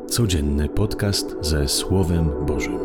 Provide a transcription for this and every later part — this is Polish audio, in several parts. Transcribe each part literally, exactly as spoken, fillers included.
Codzienny podcast ze Słowem Bożym.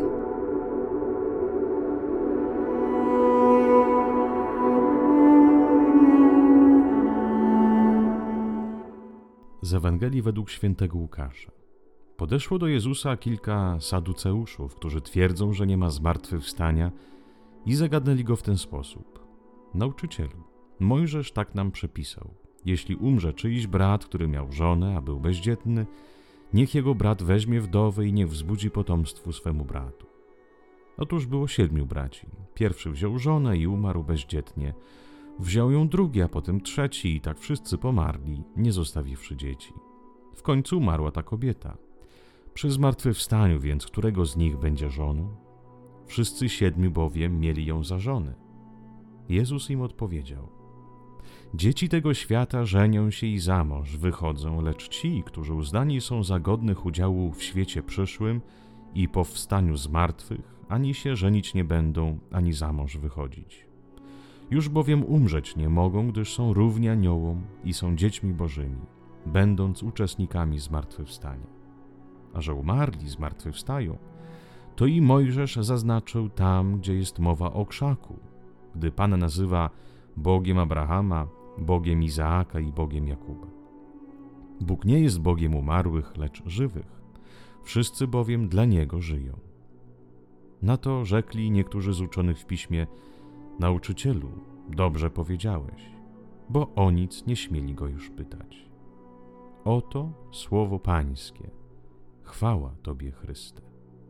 Z Ewangelii według świętego Łukasza. Podeszło do Jezusa kilka saduceuszów, którzy twierdzą, że nie ma zmartwychwstania, i zagadnęli go w ten sposób: Nauczycielu, Mojżesz tak nam przepisał: jeśli umrze czyjś brat, który miał żonę, a był bezdzietny, niech jego brat weźmie wdowę i niech wzbudzi potomstwu swemu bratu. Otóż było siedmiu braci. Pierwszy wziął żonę i umarł bezdzietnie. Wziął ją drugi, a potem trzeci, i tak wszyscy pomarli, nie zostawiwszy dzieci. W końcu umarła ta kobieta. Przy zmartwychwstaniu więc, którego z nich będzie żoną? Wszyscy siedmiu bowiem mieli ją za żonę. Jezus im odpowiedział: Dzieci tego świata żenią się i za mąż wychodzą, lecz ci, którzy uznani są za godnych udziału w świecie przyszłym i po wstaniu z martwych, ani się żenić nie będą, ani za mąż wychodzić. Już bowiem umrzeć nie mogą, gdyż są równi aniołom i są dziećmi bożymi, będąc uczestnikami zmartwychwstania. A że umarli zmartwychwstają, to i Mojżesz zaznaczył tam, gdzie jest mowa o krzaku, gdy Pan nazywa Bogiem Abrahama, Bogiem Izaaka i Bogiem Jakuba. Bóg nie jest Bogiem umarłych, lecz żywych. Wszyscy bowiem dla Niego żyją. Na to rzekli niektórzy z uczonych w piśmie: Nauczycielu, dobrze powiedziałeś, bo o nic nie śmieli go już pytać. Oto słowo Pańskie. Chwała Tobie, Chryste.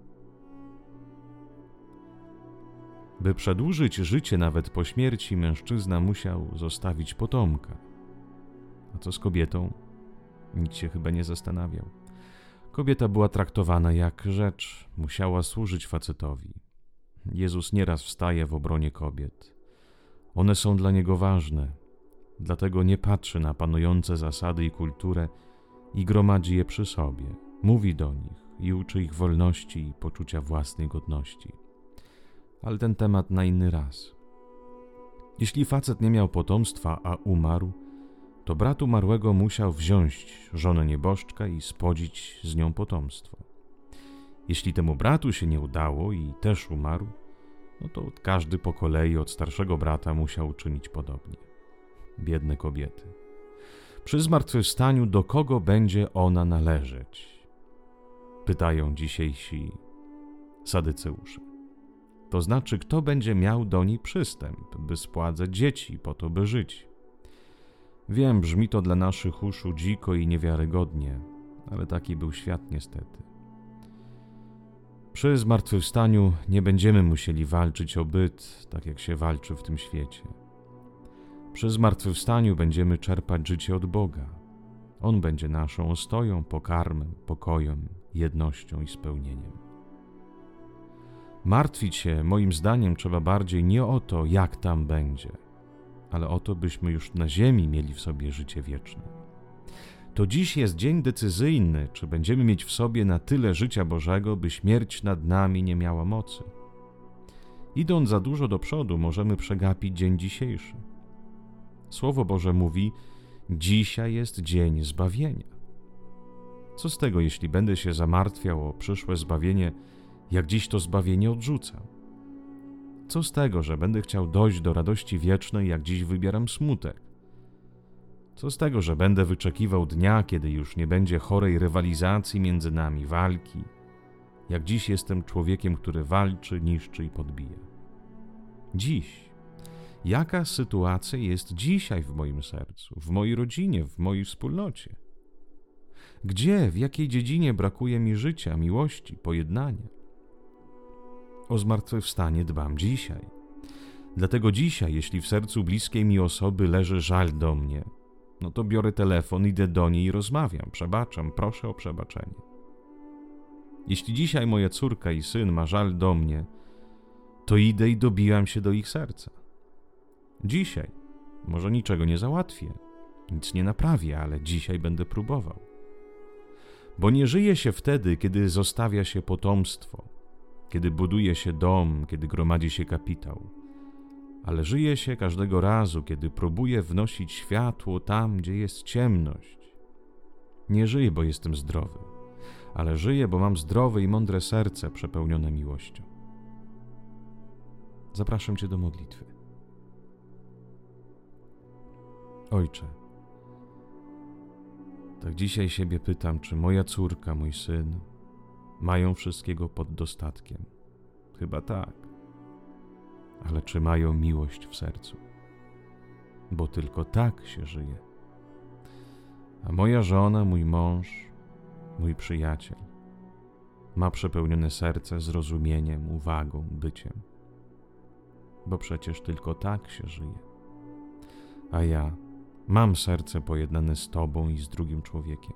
By przedłużyć życie nawet po śmierci, mężczyzna musiał zostawić potomka. A co z kobietą? Nikt się chyba nie zastanawiał. Kobieta była traktowana jak rzecz, musiała służyć facetowi. Jezus nieraz wstaje w obronie kobiet. One są dla Niego ważne, dlatego nie patrzy na panujące zasady i kulturę i gromadzi je przy sobie. Mówi do nich i uczy ich wolności i poczucia własnej godności. Ale ten temat na inny raz. Jeśli facet nie miał potomstwa, a umarł, to brat umarłego musiał wziąć żonę nieboszczka i spłodzić z nią potomstwo. Jeśli temu bratu się nie udało i też umarł, no to każdy po kolei od starszego brata musiał uczynić podobnie. Biedne kobiety. Przy zmartwychwstaniu do kogo będzie ona należeć? Pytają dzisiejsi sadyceusze. To znaczy, kto będzie miał do niej przystęp, by spładzać dzieci, po to, by żyć. Wiem, brzmi to dla naszych uszu dziko i niewiarygodnie, ale taki był świat niestety. Przy zmartwychwstaniu nie będziemy musieli walczyć o byt, tak jak się walczy w tym świecie. Przy zmartwychwstaniu będziemy czerpać życie od Boga. On będzie naszą ostoją, pokarmem, pokojem, jednością i spełnieniem. Martwić się, moim zdaniem, trzeba bardziej nie o to, jak tam będzie, ale o to, byśmy już na ziemi mieli w sobie życie wieczne. To dziś jest dzień decyzyjny, czy będziemy mieć w sobie na tyle życia Bożego, by śmierć nad nami nie miała mocy. Idąc za dużo do przodu, możemy przegapić dzień dzisiejszy. Słowo Boże mówi: dzisiaj jest dzień zbawienia. Co z tego, jeśli będę się zamartwiał o przyszłe zbawienie, jak dziś to zbawienie odrzucam? Co z tego, że będę chciał dojść do radości wiecznej, jak dziś wybieram smutek? Co z tego, że będę wyczekiwał dnia, kiedy już nie będzie chorej rywalizacji między nami, walki, jak dziś jestem człowiekiem, który walczy, niszczy i podbija? Dziś. Jaka sytuacja jest dzisiaj w moim sercu, w mojej rodzinie, w mojej wspólnocie? Gdzie, w jakiej dziedzinie brakuje mi życia, miłości, pojednania? O zmartwychwstanie dbam dzisiaj. Dlatego dzisiaj, jeśli w sercu bliskiej mi osoby leży żal do mnie, no to biorę telefon, idę do niej i rozmawiam, przebaczam, proszę o przebaczenie. Jeśli dzisiaj moja córka i syn ma żal do mnie, to idę i dobijam się do ich serca. Dzisiaj może niczego nie załatwię, nic nie naprawię, ale dzisiaj będę próbował. Bo nie żyje się wtedy, kiedy zostawia się potomstwo, kiedy buduje się dom, kiedy gromadzi się kapitał, ale żyje się każdego razu, kiedy próbuje wnosić światło tam, gdzie jest ciemność. Nie żyję, bo jestem zdrowy, ale żyję, bo mam zdrowe i mądre serce przepełnione miłością. Zapraszam Cię do modlitwy. Ojcze, tak dzisiaj siebie pytam, czy moja córka, mój syn mają wszystkiego pod dostatkiem. Chyba tak. Ale czy mają miłość w sercu? Bo tylko tak się żyje. A moja żona, mój mąż, mój przyjaciel ma przepełnione serce zrozumieniem, uwagą, byciem. Bo przecież tylko tak się żyje. A ja mam serce pojednane z Tobą i z drugim człowiekiem.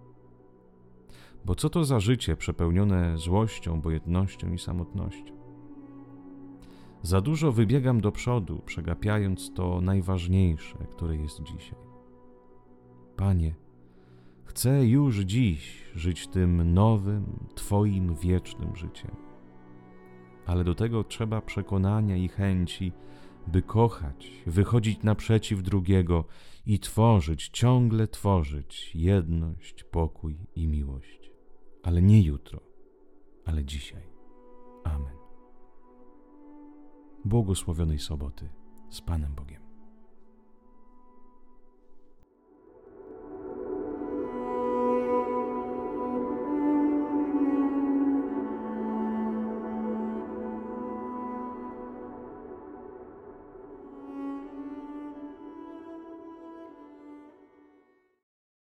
Bo co to za życie przepełnione złością, obojętnością i samotnością? Za dużo wybiegam do przodu, przegapiając to najważniejsze, które jest dzisiaj. Panie, chcę już dziś żyć tym nowym, Twoim wiecznym życiem. Ale do tego trzeba przekonania i chęci, by kochać, wychodzić naprzeciw drugiego i tworzyć, ciągle tworzyć jedność, pokój i miłość. Ale nie jutro, ale dzisiaj. Amen. Błogosławionej soboty z Panem Bogiem.